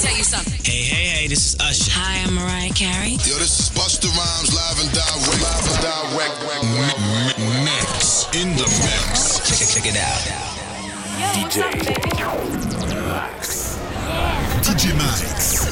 tell you something. Hey, this is Usher. Hi, I'm Mariah Carey. Yo, this is Busta Rhymes, live and direct. Mix. In the mix. Check it out. DJ Max.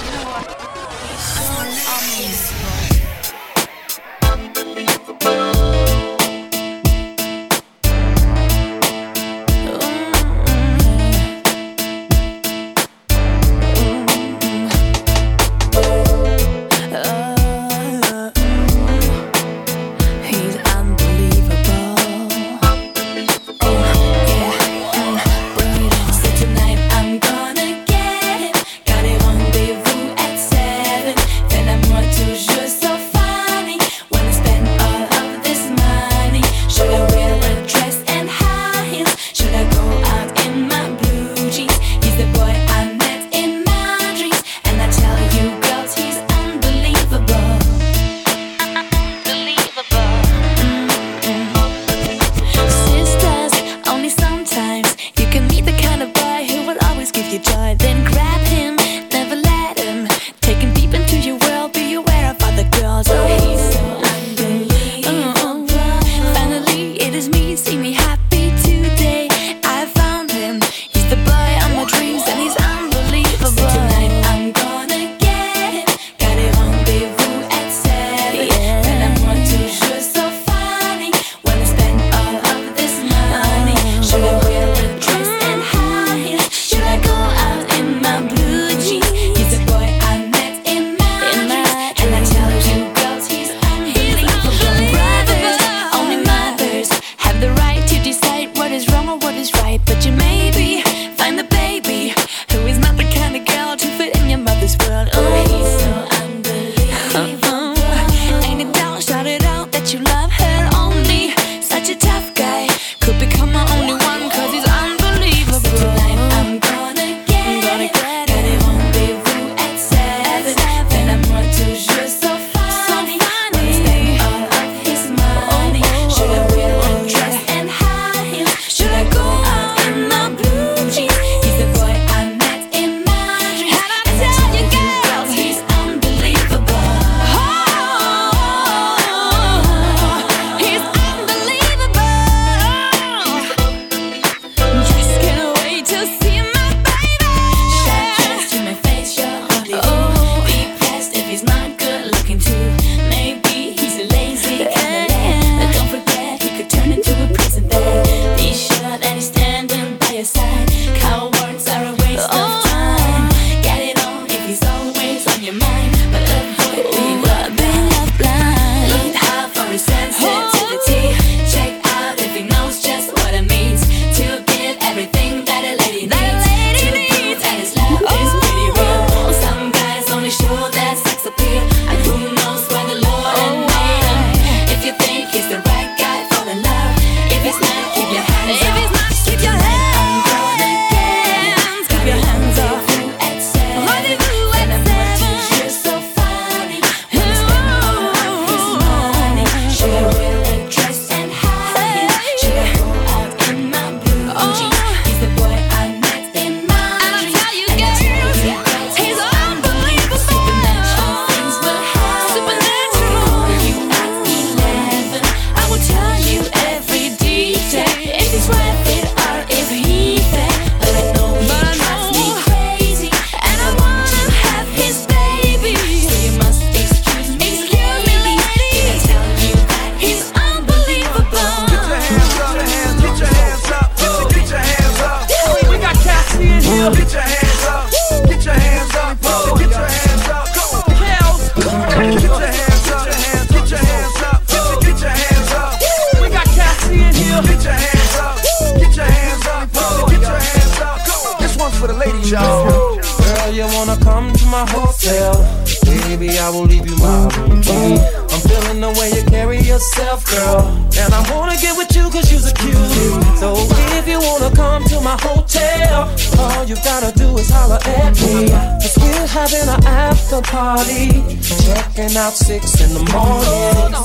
Checking out 6 in the morning.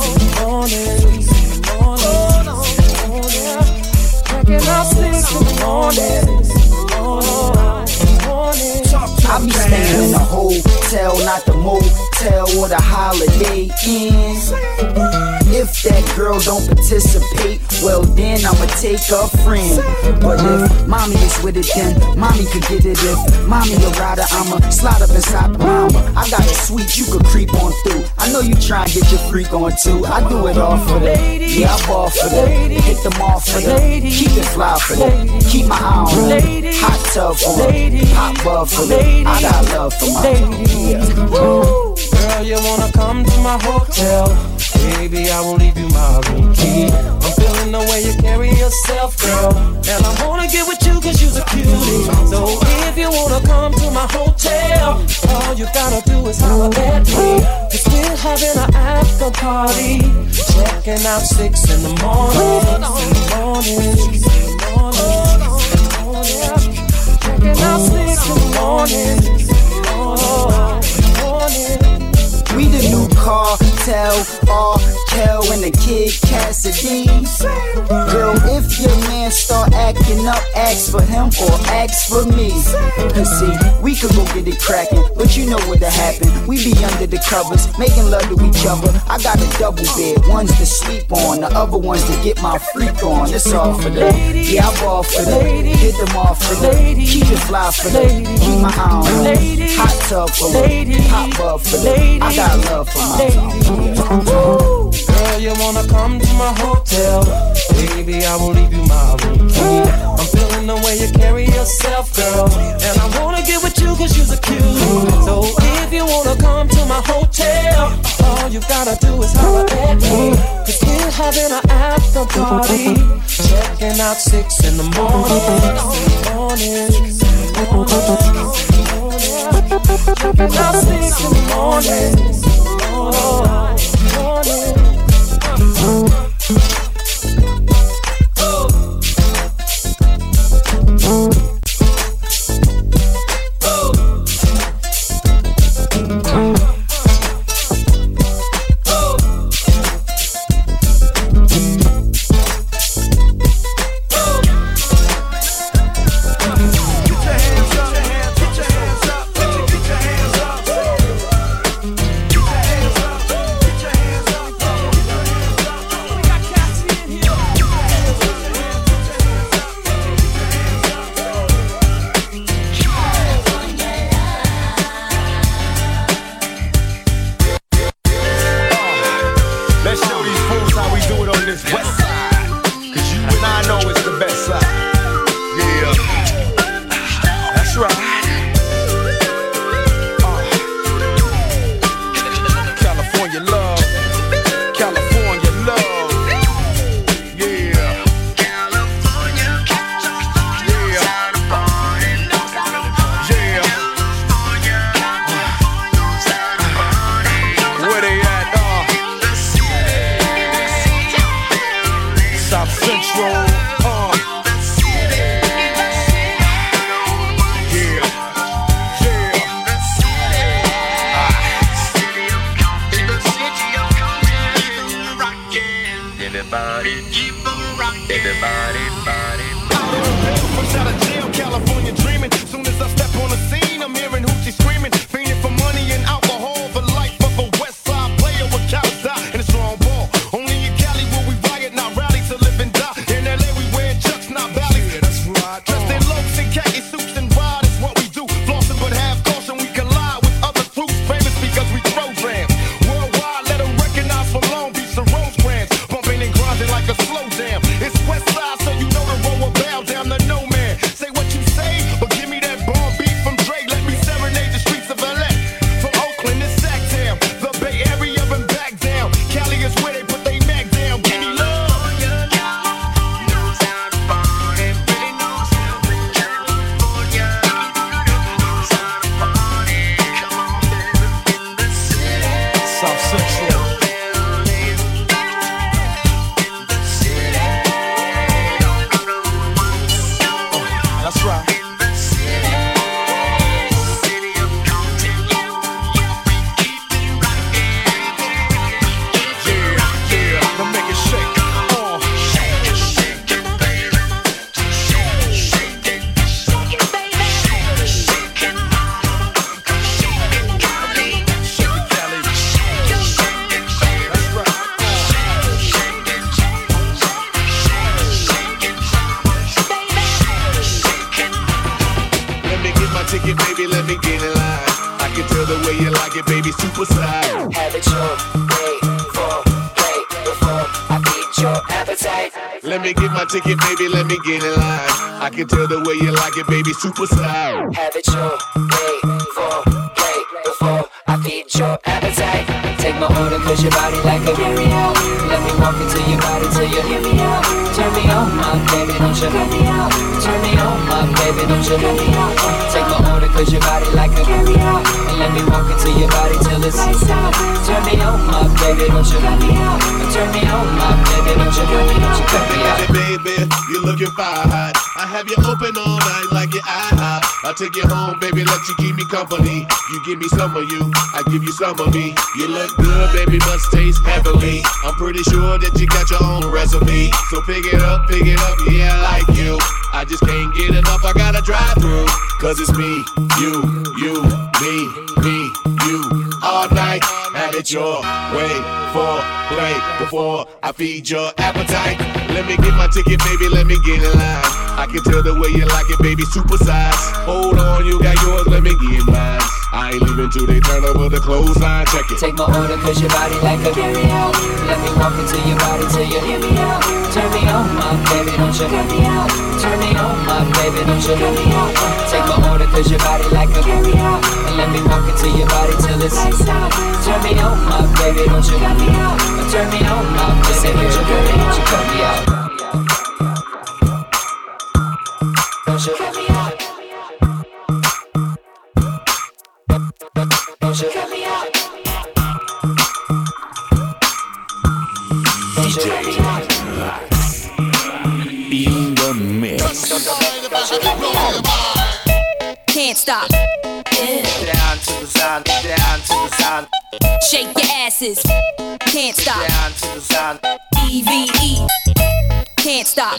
Checking out 6 in the morning. I I be staying in the hotel, not the motel or the Holiday Inn. If that girl don't participate, well then I'ma take a friend. But if mommy is with it, then mommy could get it. If mommy a rider, I'ma slide up inside the mama. I got a suite you could creep on through. I know you try and get your freak on too. I do it all for that. Yeah, I ball for that. Hit them all for that. Keep it fly for that. Keep my eye on that. Hot tub for that. Pop bub for that. I got love for my yeah. Girl, you wanna come to my hotel? Baby, I will leave you my room key. I'm feeling the way you carry yourself, girl, and I wanna get with you cause you're a cutie. So if you wanna come to my hotel, all you gotta do is holler at me. Cause we're having an after party, checking out 6 in the morning. Checking out 6 in the morning. We the new cartel, Kel and the Kid Cassidy. Girl, if your man start acting up, ask for him or ask for me. Cause see, we could go get it crackin', but you know what'll happen. We be under the covers, making love to each other. I got a double bed, one's to sleep on, the other one's to get my freak on. It's all for that. Yeah, I ball for that. Hit them off for that. Keep it fly for that. Keep my eye on that. Hot tub for that. Pop bub for that. I got love for my girl, you wanna come to my hotel? Baby, I will leave you my room key. I'm feeling the way you carry yourself, girl, and I wanna get with you cause you're a cutie. So if you wanna come to my hotel, all you gotta do is holler at me. Cause we're having an after party, checking out 6 in the morning. Checking out 6 in the morning. Get your hands up. my ticket, baby, let me get in line. I can tell the way you like it, baby, super size. Have it your way for play before I feed your appetite. Let me get my ticket, baby, let me get in line. I can tell the way you like it, baby, super size. Have it your way for play before I feed your appetite. Take my order cause your body like a carry-out. Let me walk into your body till you hear me out. Turn me on, my baby, don't you cut me out. Turn me on, my baby, don't you cut me out. Take my order cause your body like a carry-out. And let me walk into your body till it's lights out. Turn me on, my baby, don't you cut me out. Turn me on, my baby, don't you cut me, don't you cut me out. Baby, you're looking fire hot. I have you open all night like your IHOP. I'll take you home, baby, let you keep me company. You give me some of you, I give you some of me. You look good, baby, must taste heavenly. I'm pretty sure that you got your own recipe. So pick it up, yeah, I like you. I just can't get enough, I gotta drive through. Cause it's me, you, me, you. All night, have it your way for play before I feed your appetite. Let me get my ticket, baby, let me get in line. I can tell the way you like it, baby, super size. Hold on, you got yours, let me get mine. I ain't leaving till they turn over the clothesline, check it. Take my order cause your body like a carry-out. Let me walk into your body till you hear me out. Turn me on, my baby, don't you cut me out. Turn me on, my baby, don't you cut me out. Take my order cause your body like a carry-out. And let me walk into your body till it's lights out. Turn me on, my baby, don't you cut me out. Turn me on, my baby, don't you cut me, don't you cut me out. Don't you cut me out. Don't you cut me out. DJ in the mix. Can't stop. Down to the sound, down to the sound. Shake your asses. Can't stop. Down to the sound. EVE. Can't stop.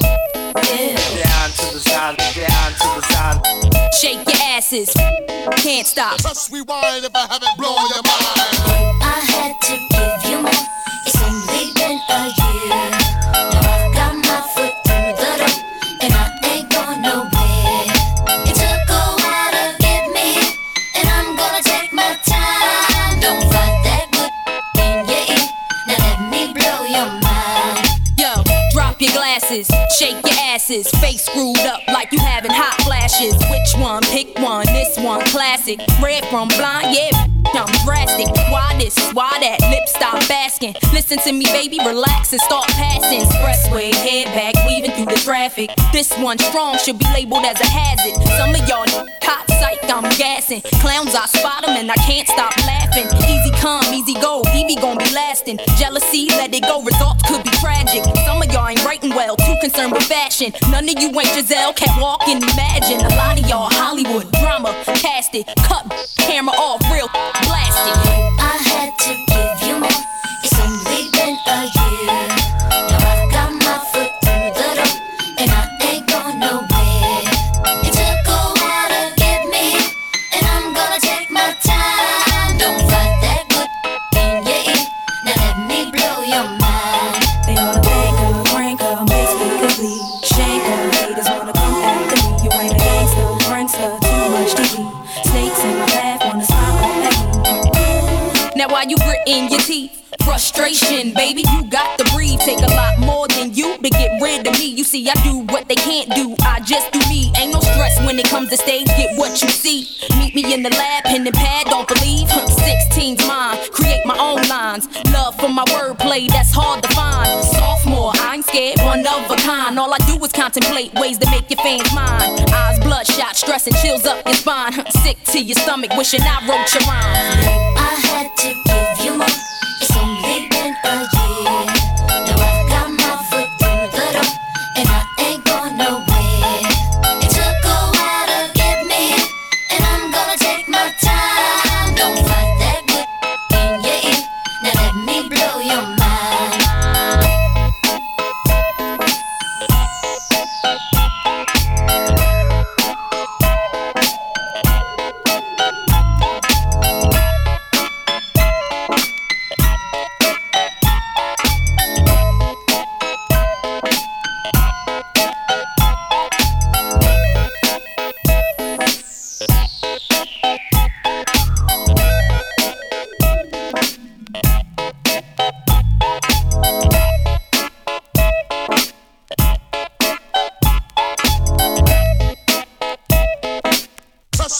Down to the sound, down to the sound. Shake your asses. Can't stop. Press rewind if I haven't blown your mind. I had to give you more. It's only been a year. Now I've got my foot through the door, and I ain't going nowhere. It took a while to get me, and I'm gonna take my time. Don't fight that good in your ear. Now let me blow your mind. Yo, drop your glasses. Shake your asses. Face screwed up like you having hot flashes. Which one? Pick one. This one classic. Red from blind, yeah. I'm drastic. Why this? Why that? Lips stop asking. Listen to me, baby, relax and start passing. Expressway, head back, weaving through the traffic. This one strong should be labeled as a hazard. Some of y'all hot psych, I'm gassing. Clowns, I spot them and I can't stop laughing. Easy come, easy go, Evie gon' be lasting. Jealousy, let it go, results could be tragic. Some of y'all ain't writing well, too concerned with fashion. None of you ain't Giselle, can't walk and imagine. A lot of y'all Hollywood drama, cast it, cut camera off, real blasted. I had to give you more. It's only been a year. Now I've got my foot through the door, and I ain't going nowhere. It took a while to get me, and I'm gonna take my time. Don't fight that good in your ear. Now let me blow your mind. They wanna bank up, rank up, basically shake up. Haters wanna come after me. You ain't a gangster, prankster, too much TV. Snakes in my path, wanna smile at me. Now while you gritting your teeth, frustration, baby, you got to breathe. Take a lot more than you to get rid of me. You see, I do what they can't do, I just do me. Ain't no stress when it comes to stage, get what you see. Meet me in the lab, pen and pad, don't believe. 16's mine, create my own lines. Love for my wordplay, that's hard to find. Sophomore, I ain't scared, one of a kind. All I do is contemplate ways to make your fans mine. Eyes bloodshot, stress and chills up your spine. Sick to your stomach, wishing I wrote your rhyme. I had to give you more. It's only been a year. Now I've got my foot through the door, and I ain't going nowhere. It took a while to get me, and I'm gonna take my time. Don't fight that good in your ear. Now let me blow your mind.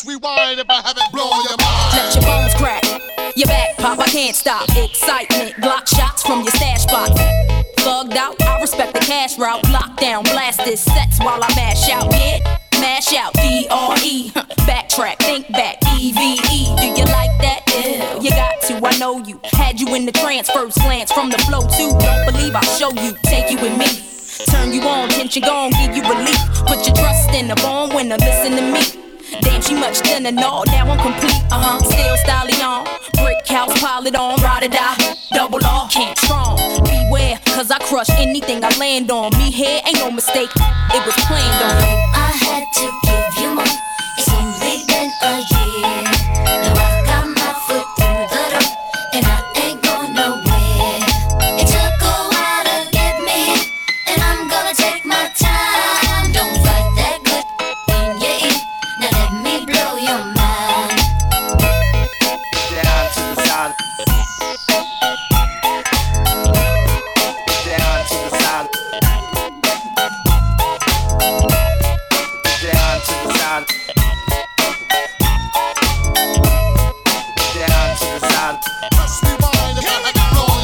rewind if I haven't blown your mind. Let your bones crack, your back pop, I can't stop. Excitement, Glock shots from your stash box. Thugged out, I respect the cash route. Lockdown, blast this sets while I mash out. Yeah, mash out, D-R-E. Backtrack, think back, E-V-E. Do you like that? Ew, you got to, I know you. Had you in the trance, first glance from the flow too. Don't believe I'll show you, take you with me. Turn you on, tension gone, give you relief. Put your trust in the born winner, listen to me. Damn, she much thinner, no, now I'm complete, still styling on. Brick house, pile it on, ride or die, double R, can't strong. Beware, cause I crush anything I land on. Me here ain't no mistake, it was planned on. I had to give you more, it's only been a year. Now I got my foot through the door, and I ain't going nowhere. It took a while to get me, and I'm gonna take my time. Don't fight that good in your ear. Now let me blow your mind. Down to the side. Down to the side. Down to the side. Down to the side. Just rewind if I haven't blown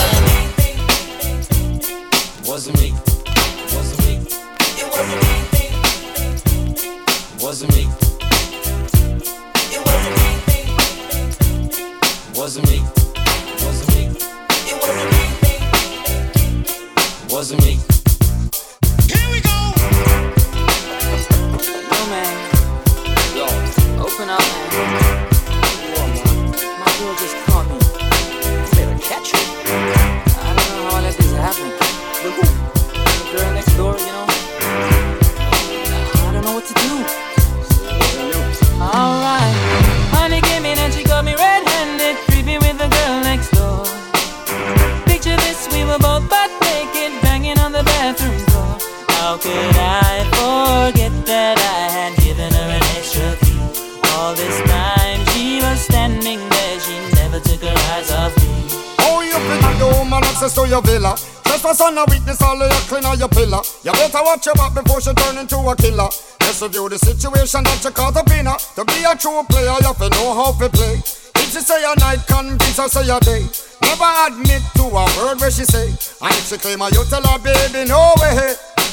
your mind. Wasn't me. Wasn't me. It wasn't me. Wasn't me. It wasn't me. Wasn't me. Wasn't me. It wasn't me. Wasn't me. Here we go. Yo, man. Yo, open up, man. My girl just caught me. You better catch her. I don't know how all that is happening. But who? The girl next door, you know? I don't know what to do. Alright. Honey came in and she got me red-handed, creepy with the girl next door. Picture this, we were both butt naked, banging on the bathroom floor. How could I forget that I had given her an extra key? All this time she was standing there, she never took her eyes off me. Oh, you finna the woman access to your villa. Trespass on a witness, all of your clean on your pillar. You better watch your back before she turn into a killer. Just review the situation that you caught up in her. To be a true player, you have to know how to play. If she say a night, convince her say a day. Never admit to a word where she say. And if she claim her, you tell her, baby, no way.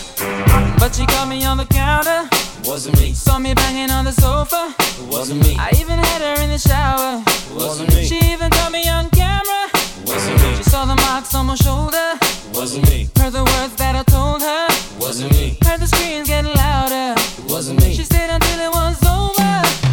But she caught me on the counter. Wasn't me. Saw me banging on the sofa. It wasn't me. I even had her in the shower. It wasn't me. She even caught me on camera. It wasn't me. She saw the marks on my shoulder. It wasn't me. Heard the words that I told her. It wasn't me. Heard the screams getting louder. It wasn't me. She stayed until it was over.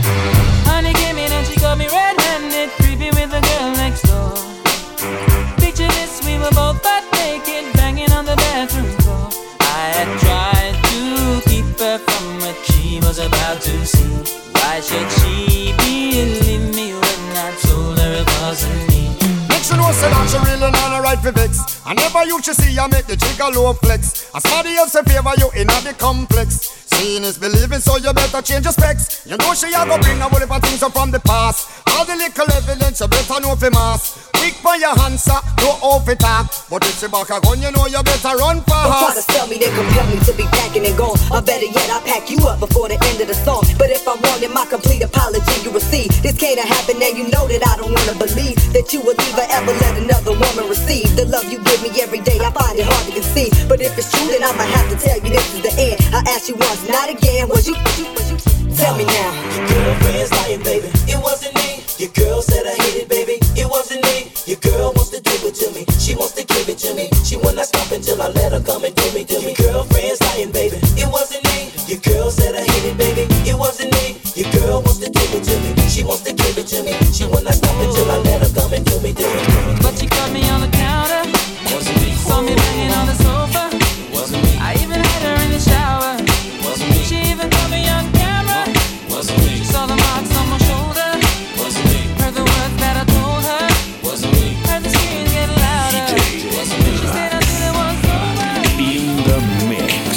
Honey came in and she got me red-handed, creepy with the girl next door. Picture this, we were both butt naked, banging on the bathroom floor. I had tried to keep her from what she was about to see. Why should she believe me when I told her it wasn't me? Make she know say that she really not a right for vex. I never used to see you make the jigger low flex. As somebody else in favor you in the complex. Seeing is believing, so you better change your specs. You know she a go bring a whole heap of things up from the past. All the little evidence you better know for mass. Quick for your answer, no off it talk. But if she back a gun, you know you better run fast. Don't try to sell me, they compel me to be packing and gone. Or better yet, I pack you up before the end of the song. But if I'm wrong, then my complete apology you receive. This can't happen, and you know that I don't wanna believe that you would either ever let another woman receive the love you give me every day. I find it hard to conceive. But if it's true, then I'ma have to tell you this is the end. I asked you once, not again. Was you? Tell me now. Your girlfriend's lying, baby. It wasn't me. Your girl said I hate it, baby. It wasn't me. Your girl wants to do it to me. She wants to give it to me. She will not stop until I let her come and do me. Your girlfriend's lying, baby. It wasn't me. Your girl said I hate it, baby. It wasn't me. Your girl wants to do it to me. She wants to give it to me. She will not stop until I let her come and do me. But she caught me on the counter. Wasn't me. Saw me banging on the sofa. Wasn't me. I even had her in the shower. Wasn't me. She even caught me on camera. Wasn't me. She saw the marks on my shoulder. Wasn't me. Heard the words that I told her. Wasn't me. Heard the screams getting louder. Wasn't me. She stayed until it was over. In the mix.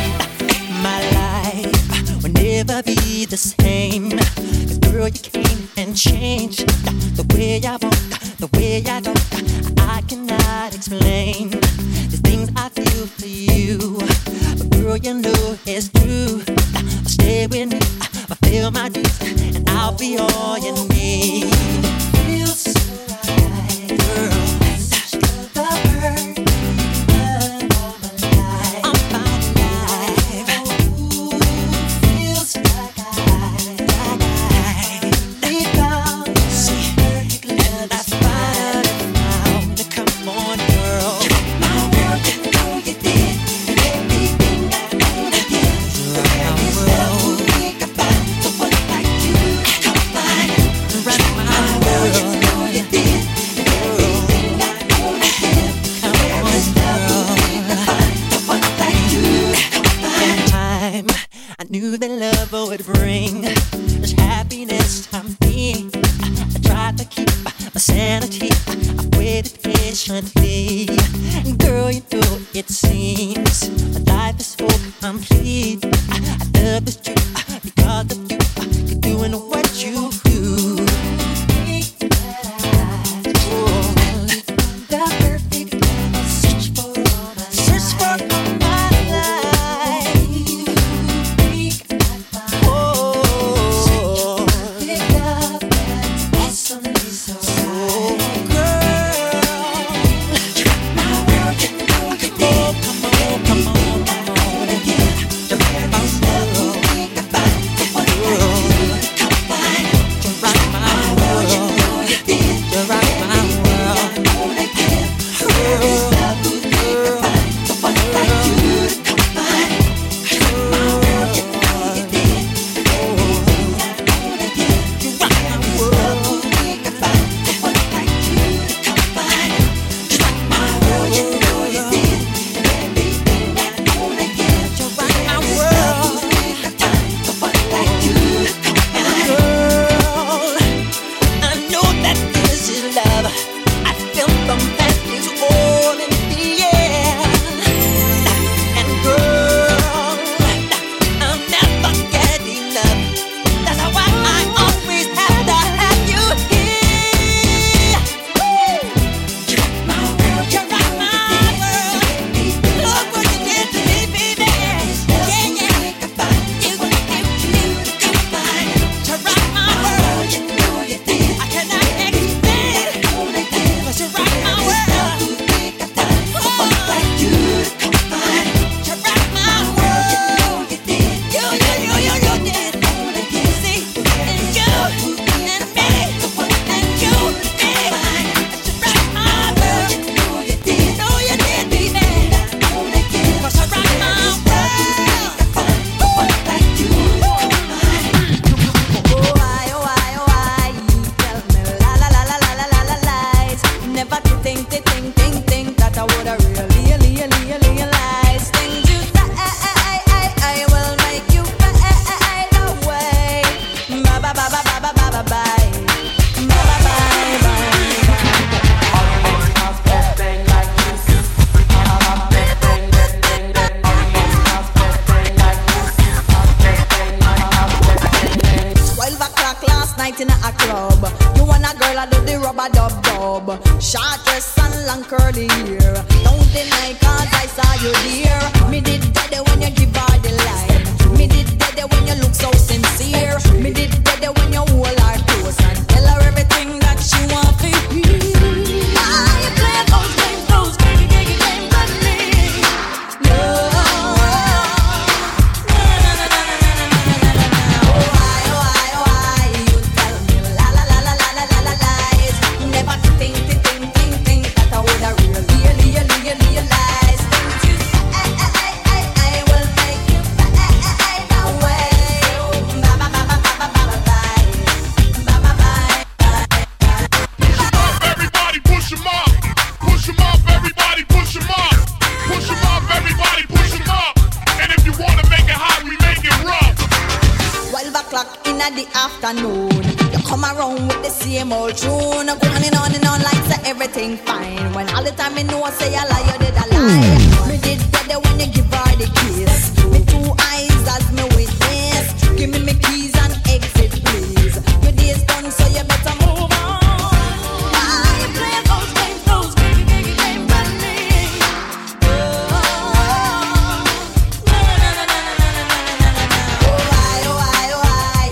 My life will never be the same. 'Cause girl, you came and changed the way I want, the way I don't. I cannot explain the things I feel for you. But girl, you know it's true. I'll stay with you fulfill my dreams, and I'll be all you need. Feels so right, girl. The bird, I'm fine alive. Ooh, feels like I found and I found it. Come on, girl. My world, you know you did everything I wanted. I knew that love would bring this happiness to me. I tried to keep my sanity. I waited patiently. Girl, you know it seems life is so complete. I love this truth because of you. You're doing what you do. The perfect love, search for all my life. night in a club. You want a girl, I do the rubber dub. Short dress and long curly hair. Don't deny, cause I saw you there. Me did dead when you give her the line. Me did dead when you look so sincere. Me did dead when you hold her close and tell her everything that she want to hear. I play those games, games on me. The afternoon, you come around with the same old tune, going on and on like say everything fine. When all the time me know say a lie, you did a lie. Me did better when you give her the kiss. Me two eyes as me witness. Give me keys and exit, please. Your day's done, so you better move on. I play those games on me. Oh, why?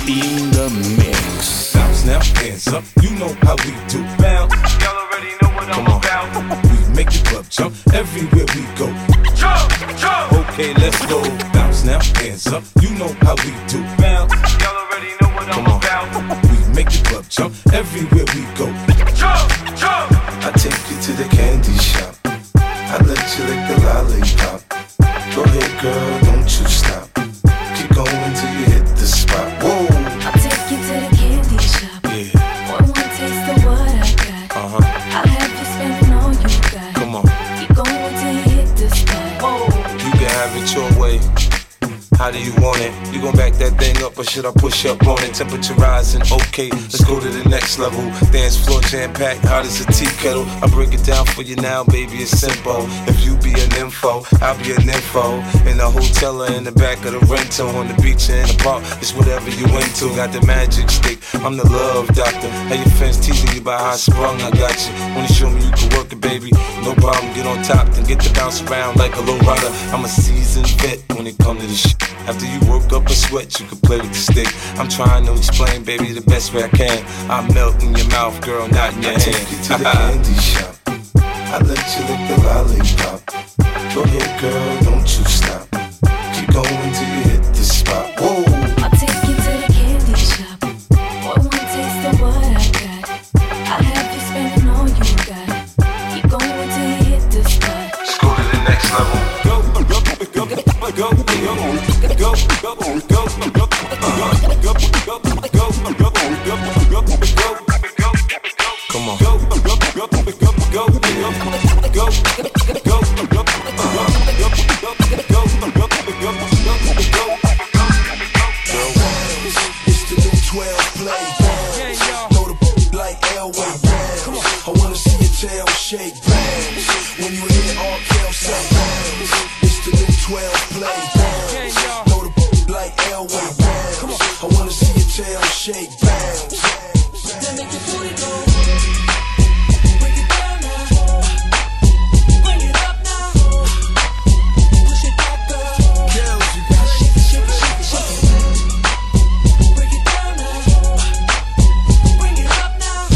in the mix. Bounce now, hands up, you know how we do. Bounce, y'all already know what I'm about. We make the club jump everywhere we go. Jump, jump. Okay, let's go. Bounce now, hands up, you know how we do. Bounce, y'all already know what I'm about. We make the club jump everywhere we go. Jump, jump. I take you to the candy shop. I let you lick the lollipop. Go ahead, girl, don't you stop. Keep going till you hit the spot. Whoa. I'll take you to the candy shop. Yeah. One taste of what I got. I'll have you spending all you got. Come on. Keep going till you hit the spot. Whoa. You can have it your way. How do you want it? You gon' back that thing up or should I push up on it? Temperature rising, okay, let's go to the next level. Dance floor jam-packed, hot as a tea kettle. I break it down for you now, baby, it's simple. If you be an info, I'll be an info. In the hotel or in the back of the rental, on the beach or in the park, it's whatever you into. Got the magic stick, I'm the love doctor. How your fans teasing you about how I sprung, I got you. Wanna show me you can work it, baby? No problem, get on top, then get to bounce around like a low rider. I'm a seasoned vet when it comes to this shit. After you work up a sweat, you can play with the stick. I'm trying to explain, baby, the best way I can. I melt in your mouth, girl, not in your hand. I take you to the candy shop. I let you lick the lollipop. Go ahead, girl, don't you stop. Keep going till you hit the spot. Whoa. I'll take you to the candy shop. One taste of what I got. I'll have you spending all you got. Keep going till you hit the spot. Let's go to the next level. Come on. It's the new 12 play. Know the like Elway. I wanna see your tail shake. When you hear all Kel say, it's the new 12 play. Know the like Elway. I wanna see your tail shake. Then make your booty go. Break it down now. Bring it up now. Push it back, girl. Girls, you gotta shake it, shake it, shake it, shake it. Break it down now. Bring it up now.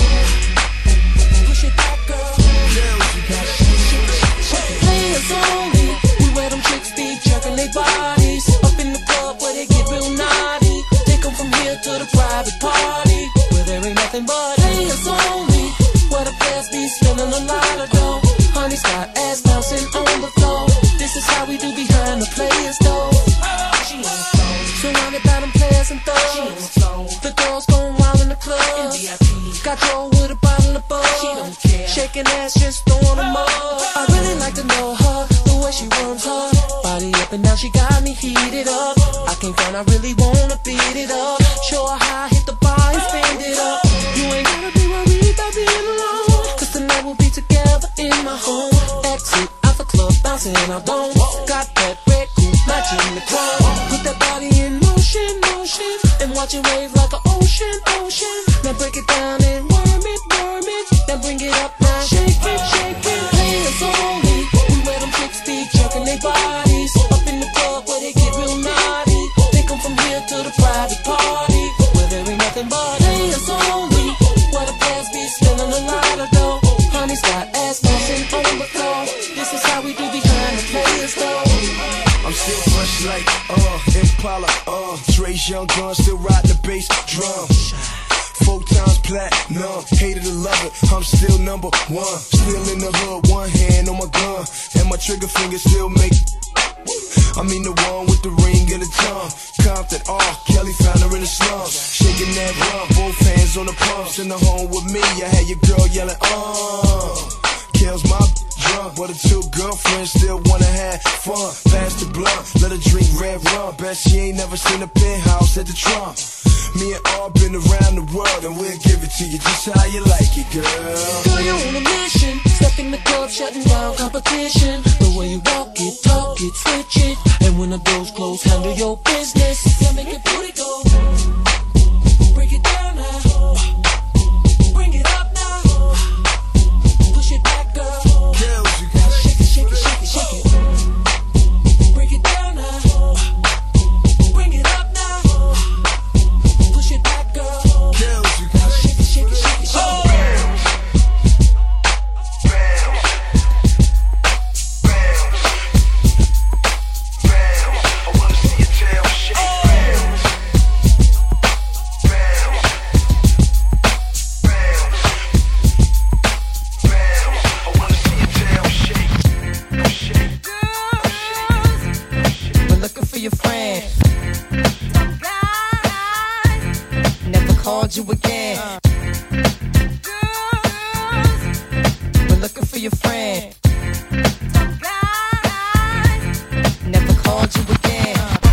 Push it back, girl. Girls, you gotta shake it, shake it, shake it, shake it. Players only, we where them chicks be jerking their bodies. Up in the club where they get real naughty. They come from here to the private party, where there ain't nothing but players only. Where the players be spending a lot of dough. Honey's got ass bouncing on the floor. This is how we do behind the players though. She on the floor, surrounded by them players and thugs. She on the floor, the girls going wild in the club. Got Joe with a bottle of bug. She don't care, shaking ass, just throwing them up. I really like to know her, the way she runs her body up and down. She got me heated up. I can't find, I really wanna beat it up. Show her how I hit the bar and spend it up. You ain't gotta be worried about being alone, cause tonight we'll be together in my home. Exit out the club, bouncing I don't. Got that red coupe matching the club. Put that body in motion, motion, and watch it wave like an ocean, ocean. Now break it down and worm it, then bring it up now. Shake it, shake it. Players only, we where them chicks be jerking their bodies. Up in the club where they get real naughty. They come from here to the private party, where there ain't nothing but players only. Where the players be spending a lot of dough. Honey's got ass bouncing on the floor. This is how we do behind the players though. I'm still fresh like Impala, Dre's young gun, still riding the bass drum. 4 times platinum, hated to love it, I'm still number one. Still in the hood, one hand on my gun, and my trigger finger still make. I mean the one with the ring and the tongue. Compton, Kelly found her in the slums. Shaking that rum, both hands on the pumps. In the home with me, I had your girl yelling, Kel's my drunk, but her 2 girlfriends still wanna have fun. Pass the blunt, let her drink red rum. Bet she ain't never seen a penthouse at the Trump. Me and all been around the world, and we'll give it to you just how you like it, girl. Girl, you're on a mission. Step in the club, shutting down competition. The way you walk it, talk it, switch it. And when the doors close, handle your business. So make your booty go. Break it down now. Bring it up now. Push it back, girl. Girls, you gotta shake it, shake it, shake it, shake it. Break it down now. Bring it up now. Push called you again. We're looking for your friend. Never called you again.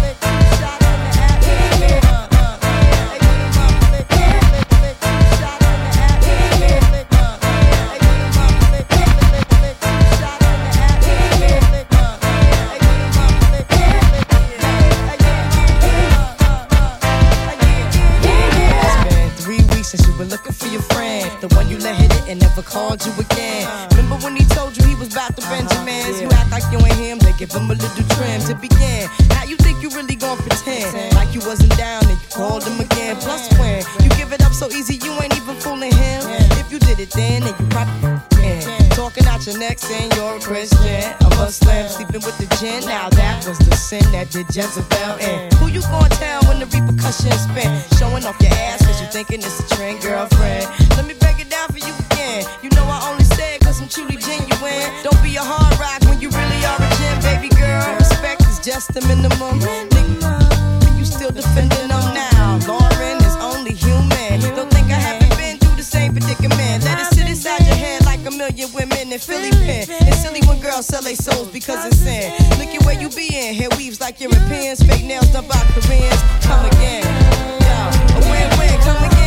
Looking for your friend, the one you let hit it and never called you again. Remember when he told you he was about to Benjamins? You act like you ain't him, they give him a little trim to begin. How you think you really gon' pretend like you wasn't down and you called him again? Plus when you give it up so easy, you ain't even fooling him. If you did it then you probably can. Talking out your neck saying you're a Christian, a Muslim, sleeping with the gin. Now that was the sin that did Jezebel in. Who you gon' tell when the repercussions spin? Showing off your ass cause you thinking it's a trend, girlfriend. Let me break it down for you again. You know I only say it cause I'm truly genuine. Don't be a hard rock when you really are a gem, baby girl. Respect is just the minimum. Nigga, you still defending them now. Lauren is only human. Don't think I haven't been through the same predicament. Let it sit inside your head like a million women in Philly pen. It's silly when girls sell their souls because it's sin. Look at where you be in. Hair weaves like Europeans. Fake nails done by Koreans. Come again. Yo, a win-win, come again.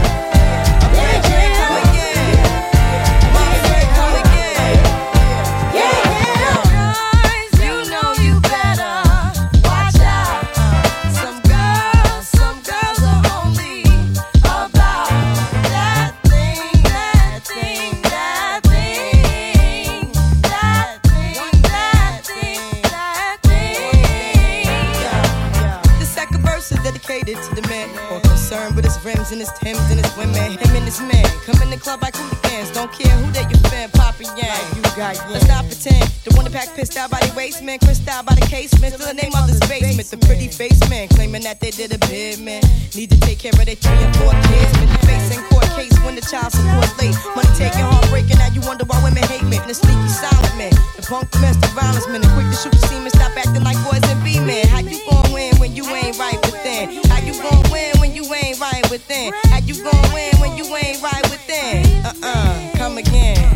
To the man, more concerned with his rims and his Timbs and his women. Him and his man come in the club like hooligans. Don't care who they your fan, Papa Yang. You got yang. Let's not pretend. The one that pack pissed out by the waist, man. Crissed out by the casement. Still the name of this basement. The pretty face man claiming that they did a bid, man. Need to take care of their 3 and 4 kids. Been facing court case when the child support late. Money taking, heartbreaking. Now you wonder why women hate me. And the sneaky silent man. The punk domestic violence man. The quick to shoot the semen. Stop acting like boys and be men. How you gon' win when you ain't right within? How you gon' win when you ain't right within? How you gon' win when you ain't right within? Come again.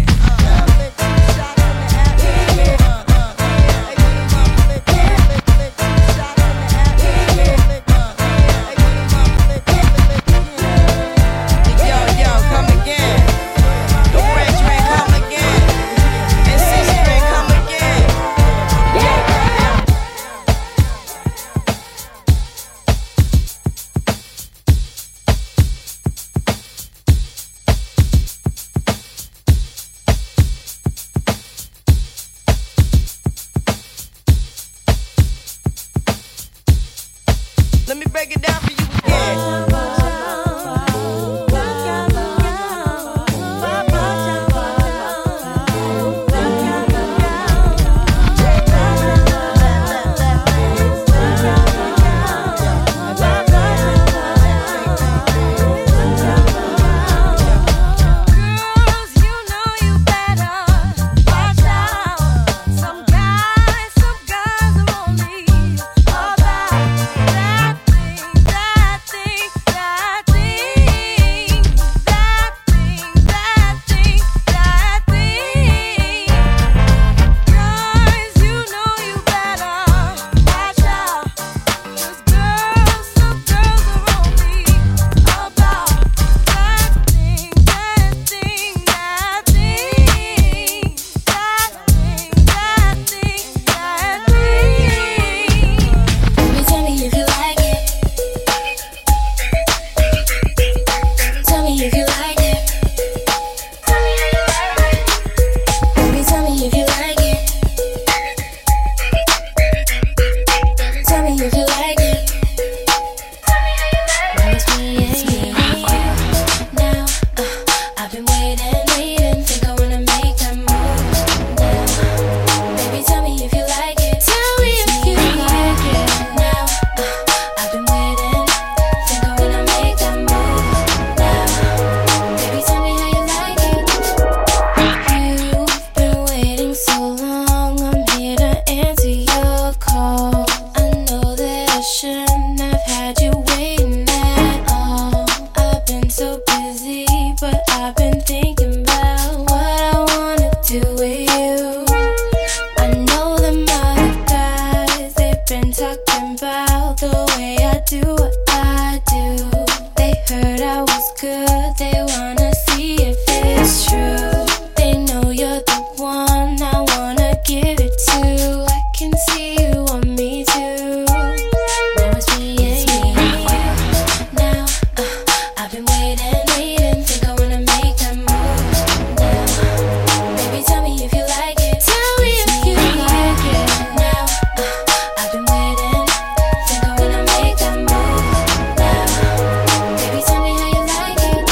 good, they wanna see if it's true. They know you're the one I wanna give it to. I can see you want me too. Now it's me and you. Now I've been waiting, think I wanna make that move now. Baby, tell me if you like it. Tell me if you like it. Now I've been waiting, think I wanna make that move now. Baby, tell me how you like it.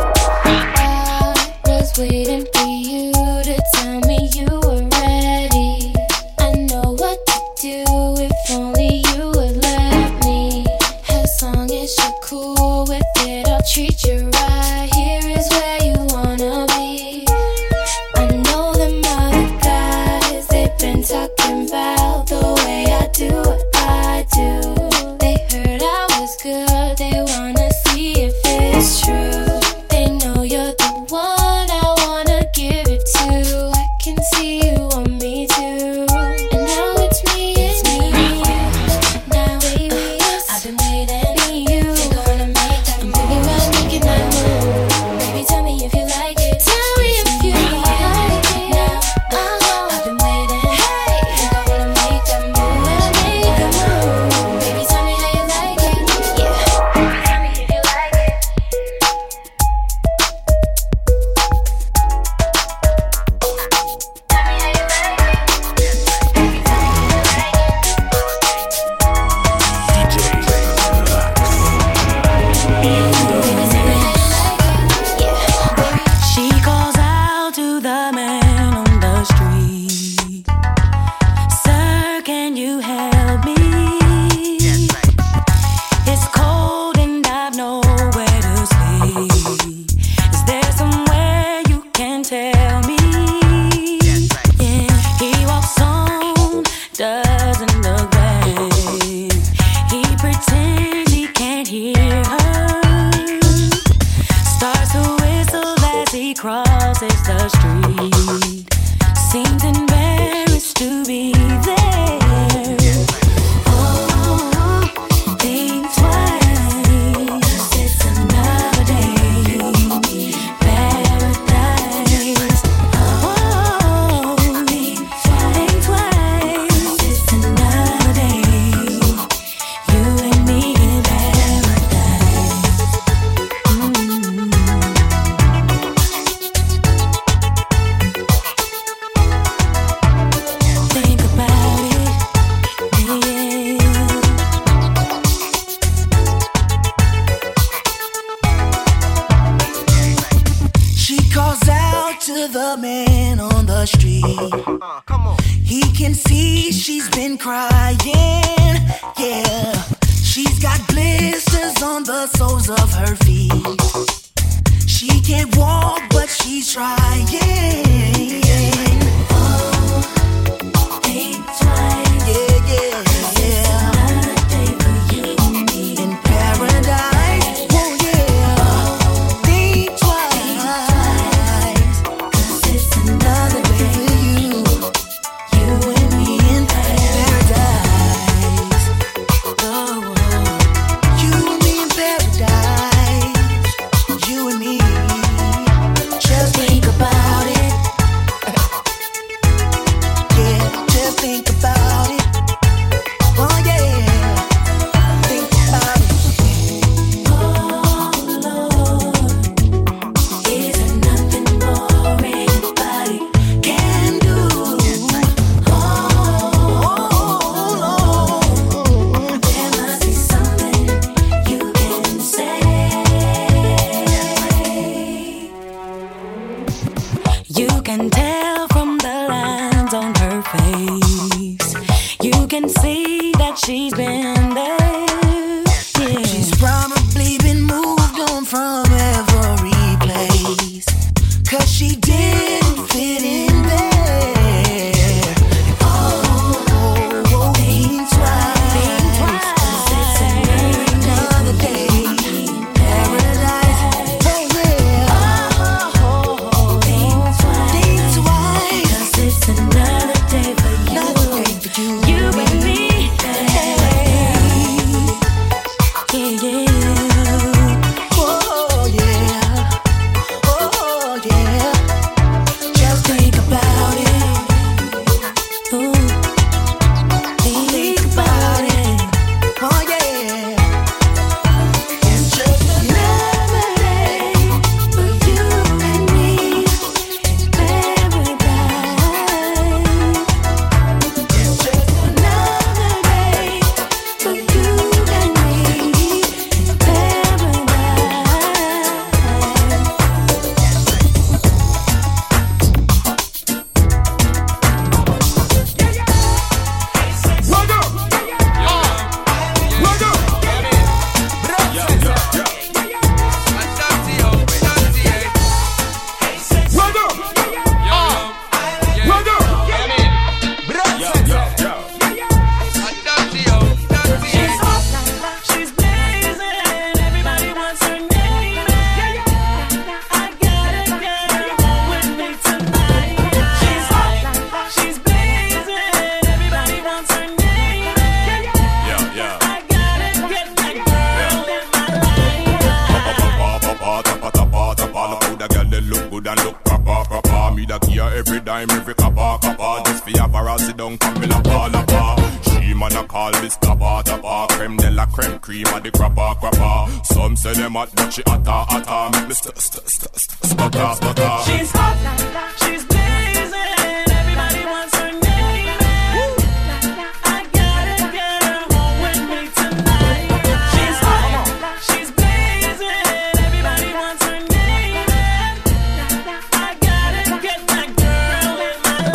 I was waiting for you to tell me you were ready. I know what to do if only you would let me. As long as you're cool with it, I'll treat you right. Here is where you wanna be. I know them other guys, they've been talking about the way I do what I do. They heard I was good, they wanna see if it's true. They know you're the one I wanna give it to. I can see you want me too. And now it's me and you. Now baby, I've been waiting for you. Think I wanna make that move. I'm thinking about making that move. Baby, tell me if you like it. Tell me if you like it. Now I've been waiting. Think I wanna make that move. Make that move. Baby, tell me how you like it. Yeah. Tell me if you like it. She calls out to the man on the street. Sir, can you help me? It's cold and I've nowhere to sleep. Is there somewhere you can tell me? Yeah, he walks on, doesn't look back. He pretends he can't hear her. Starts to whistle as he crosses the street. Seems embarrassed to be there. Oh, think twice. It's another day. Paradise. Oh, think twice. It's another day. You and me in paradise. Think about it, yeah. She calls out to the man on the street. He can see she's been crying, yeah. She's got blisters on the soles of her feet. She can't walk, but she's trying. Oh, think twice. Yeah, yeah, yeah. Another day for you and me in paradise. Oh, yeah. Think twice. 'Cause it's another day for you and me in paradise. Oh, you and me in paradise. You and me. Just think about it. Yeah, just think about it. Oh yeah, think about it. Oh Lord, is there nothing more anybody can do? Oh Lord, there must be something you can say. You can tell from the lines on her face. You can see that she's been there. Yeah. She's probably been moved on from every place. 'Cause she didn't fit in there. Oh, think twice. 'Cause it's another day in paradise. Oh yeah. Oh, think twice. 'Cause it's another day for you and me. Hey. Yeah, yeah. creme cream of the crapper. Some say them hot, but she hotter. Make me stutter. She's hot, she's blazing. Everybody wants her name. I gotta get her home with me tonight. She's hot, she's blazing. Everybody wants her name. I gotta get that girl in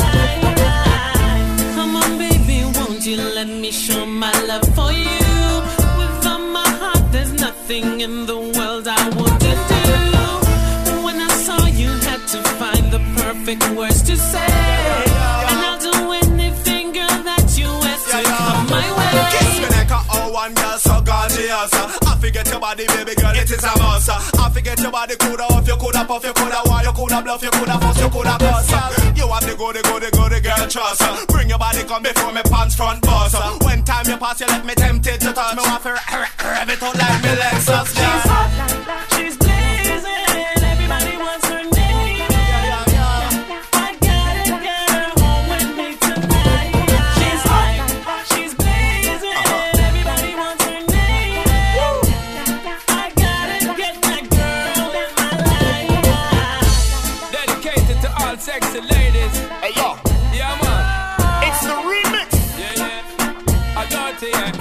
my life. Come on, baby, won't you let me show my love for you? With all my heart, there's nothing in the world I wouldn't do. When I saw you, had to find the perfect words to say. And I'll do anything, girl, that you ask to come my way. Kiss me like a one girl so gorgeous. I forget your body, baby girl, it is a must. I forget your body, coulda off, you coulda puff, you coulda why, you coulda bluff, you coulda fuss, you coulda cuss. You have the good girl trust. Bring your body, come before me pants front bust. When time you pass, you let me tempted to touch me. Want to rev it out like me Lexus. She's hot, she's blazing. Everybody wants her name. I gotta get her home with me tonight. She's hot, she's blazing. Everybody wants her name. I gotta get that girl in my life. Dedicated to all sexy ladies. Hey yo, Yeah, man. it's the remix. Yeah. I got it, yeah.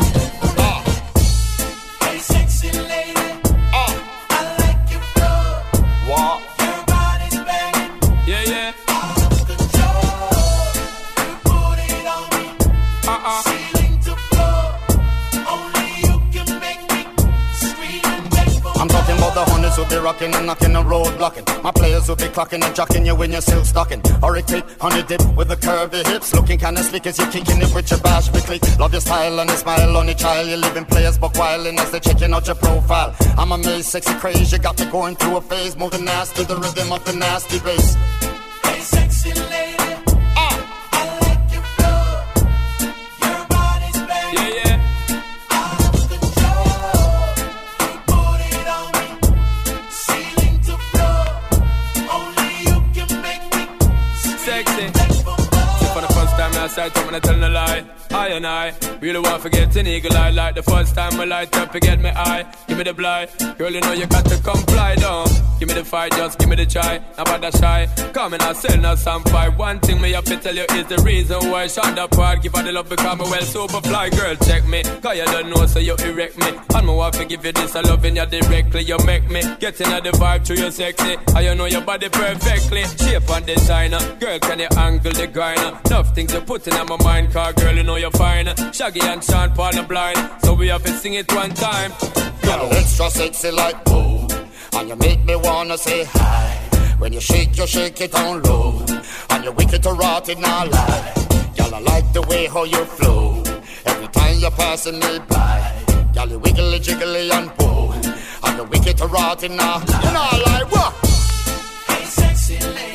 Hey, sexy lady, I like your flow. What? Your body's banging, Yeah. out of control. You put it on me, ceiling to floor. Only you can make me scream and beg for I'm talking about the honeys who be rocking and knocking and road blocking. My players who be clocking and jocking you when you're still stocking. Hurricane, honey dip with the curvy hips. Looking kinda slick as you kicking it with your bash click. Love your style and your smile on your child. You're living players but wildin' as they're checking out your profile. I'm amazed, sexy craze. You got me going through a phase. Moving nasty, the rhythm of the nasty bass. Hey, sexy lady, I like your flow. Your body's banging, Yeah. out of control. You put it on me, ceiling to floor. Only you can make me Sexy. See, for the first time I started talking, I tell no lie. I and I really want to get an eagle eye. Like the first time I light up, forget me eye. Give me the blind, girl, you know you got to comply down. Give me the fight, just give me the try. Now about that shy, come and I sell now some fight. One thing me have to tell you is the reason why I shot that part. Give her the love because me well super fly. Girl, check me, cause you don't know so you erect me. And me want to give you this, I loving you directly. You make me get in the vibe through your sexy. And you know your body perfectly. Shape and designer, girl, can you angle the grinder? Enough things you put in my mind, cause girl, you know you're fine. Shaggy and Sean Paul are blind, so we have to sing it one time. Go. Extra sexy like boom, and you make me wanna say hi. When you shake it down low, and you wicked to rot it now lie. Y'all I like the way how you flow. Every time you're passing me by, y'all you wiggly jiggly and boom, and you wicked to rot it now. You know I like what? Hey, sexy lady.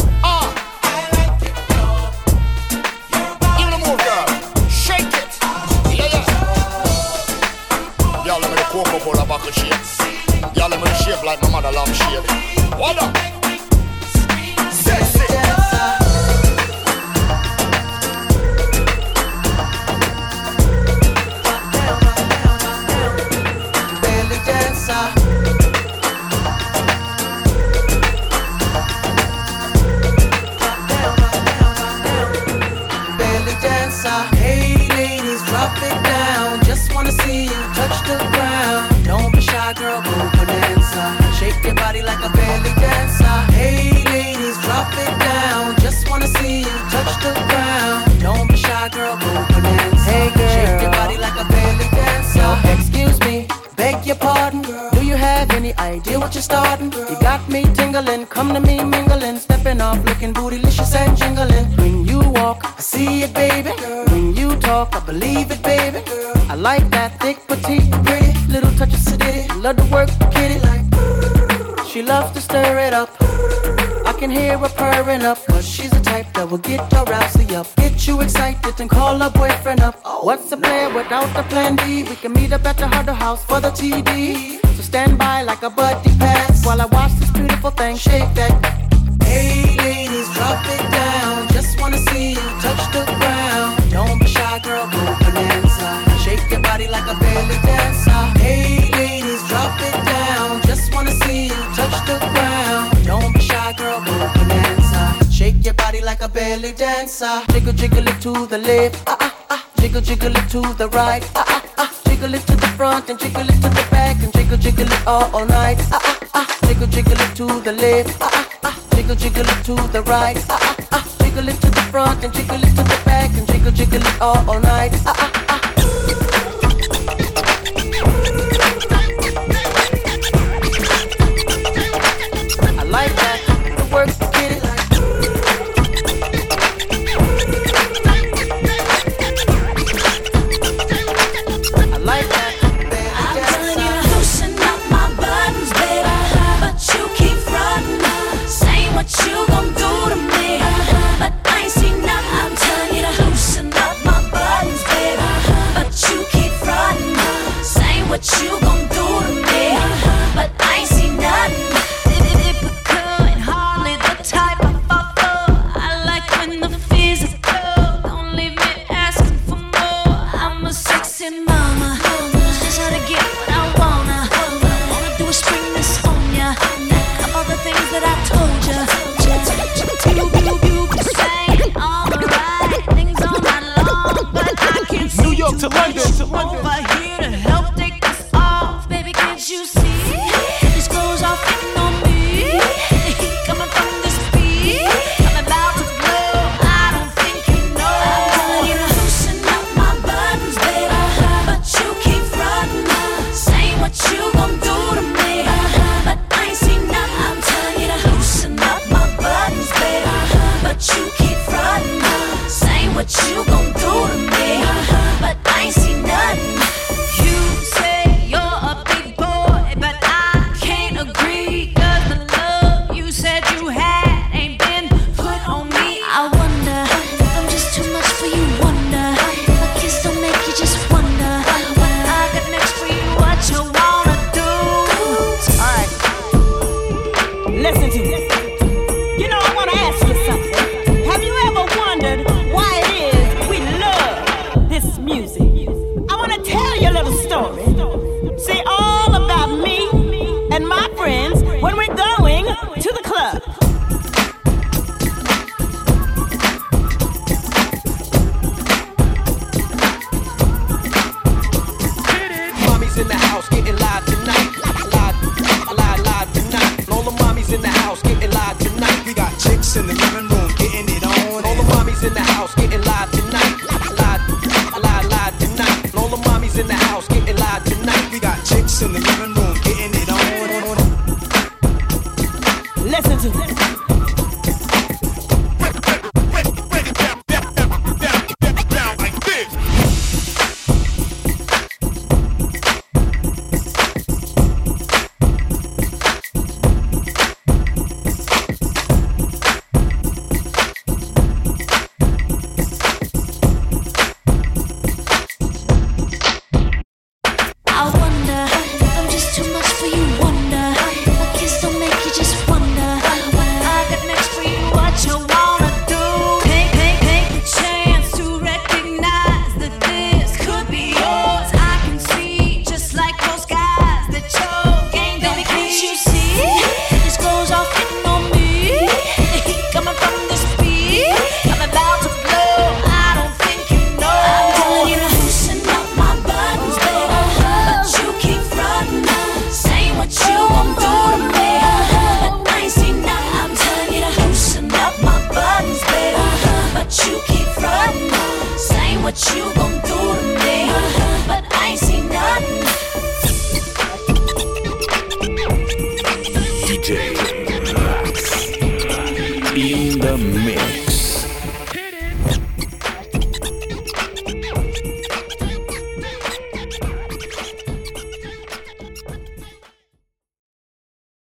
Y'all let me the Coca-Cola buckle shape. Y'all let me the shape like my mother love shape. What up? Sexy. Belly dancer. Belly dancer. Hey ladies, drop it down. Just wanna see you touch the ground. Don't be shy, girl, go bonanza. Shake your body like a belly dancer. Hey ladies, drop it down. Just wanna see you touch the ground. Don't be shy, girl, go bonanza. Hey girl, shake your body like a belly dancer. Yo, excuse me, beg your pardon, girl. Do you have any idea what you're starting? You got me tingling, come to me mingling, stepping off, looking bootylicious and jingling. When you walk, I see it, baby. When you talk, I believe it, baby. I like that thick, petite, pretty, little touch of sedity. Love to work, kitty like. She loves to stir it up. I can hear her purring up, cause she's the type that will get her rousey up. Get you excited and call her boyfriend up. What's a plan without the plan B? We can meet up at the Huddle House for the TD. So stand by like a buddy pass while I watch this beautiful thing shake that. Hey ladies, drop it down. Just wanna see you touch the ground. Don't be shy, girl, go bonanza. Shake your body body like a belly dancer. Hey ladies, drop it down. Just wanna see you touch the ground. Don't be shy, girl, go bonanza. Shake your body like a belly dancer. Jiggle, jiggle it to the left. Jiggle, jiggle it to the right. Jiggle it to the front and jiggle it to the back and jiggle, jiggle it all night. Jiggle, jiggle it to the left. Jiggle, jiggle it to the right. Jiggle it to the front and jiggle it to the back and jiggle, jiggle it all night. I like that. The work, get it. I like that. I'm telling you to loosen up my buttons, baby, but you keep frontin', saying what you gon' do to me, but I ain't seen nothing. I'm telling you to loosen up my buttons, baby, but you keep frontin', saying what you gon' do to me, but I ain't seen nothing. Typical and hardly the type I fall for. I like when the physical don't leave me asking for more. I'm a sexy mama, just how to get what I wanna. Wanna do is spring this on ya. All the things that I told ya. You be saying all the right things all night long, but I can't see New York to London, to London. over here to help take this off. Baby, can't you see? These clothes are fitting on me. The heat coming from this beat. I'm about to blow. I don't think you know. I'm telling you to loosen up my buttons, baby, but you keep frontin', saying what you gon' do to me, but I ain't seen nothing. I'm telling you to loosen up my buttons, baby, but you keep frontin', saying what you gon' do to me, but I ain't seen nothing. You say you're a big boy, but I can't agree, 'cause the love you said you had ain't been put on me. I wonder if I'm just too much for you, wonder if my kiss don't make you just wonder what I got next for you, what you wanna do. Alright, listen to me. You know, I want to ask you something. Have you ever wondered why it is we love this music? I want to tell you a little story. See, all about me and my friends when we're going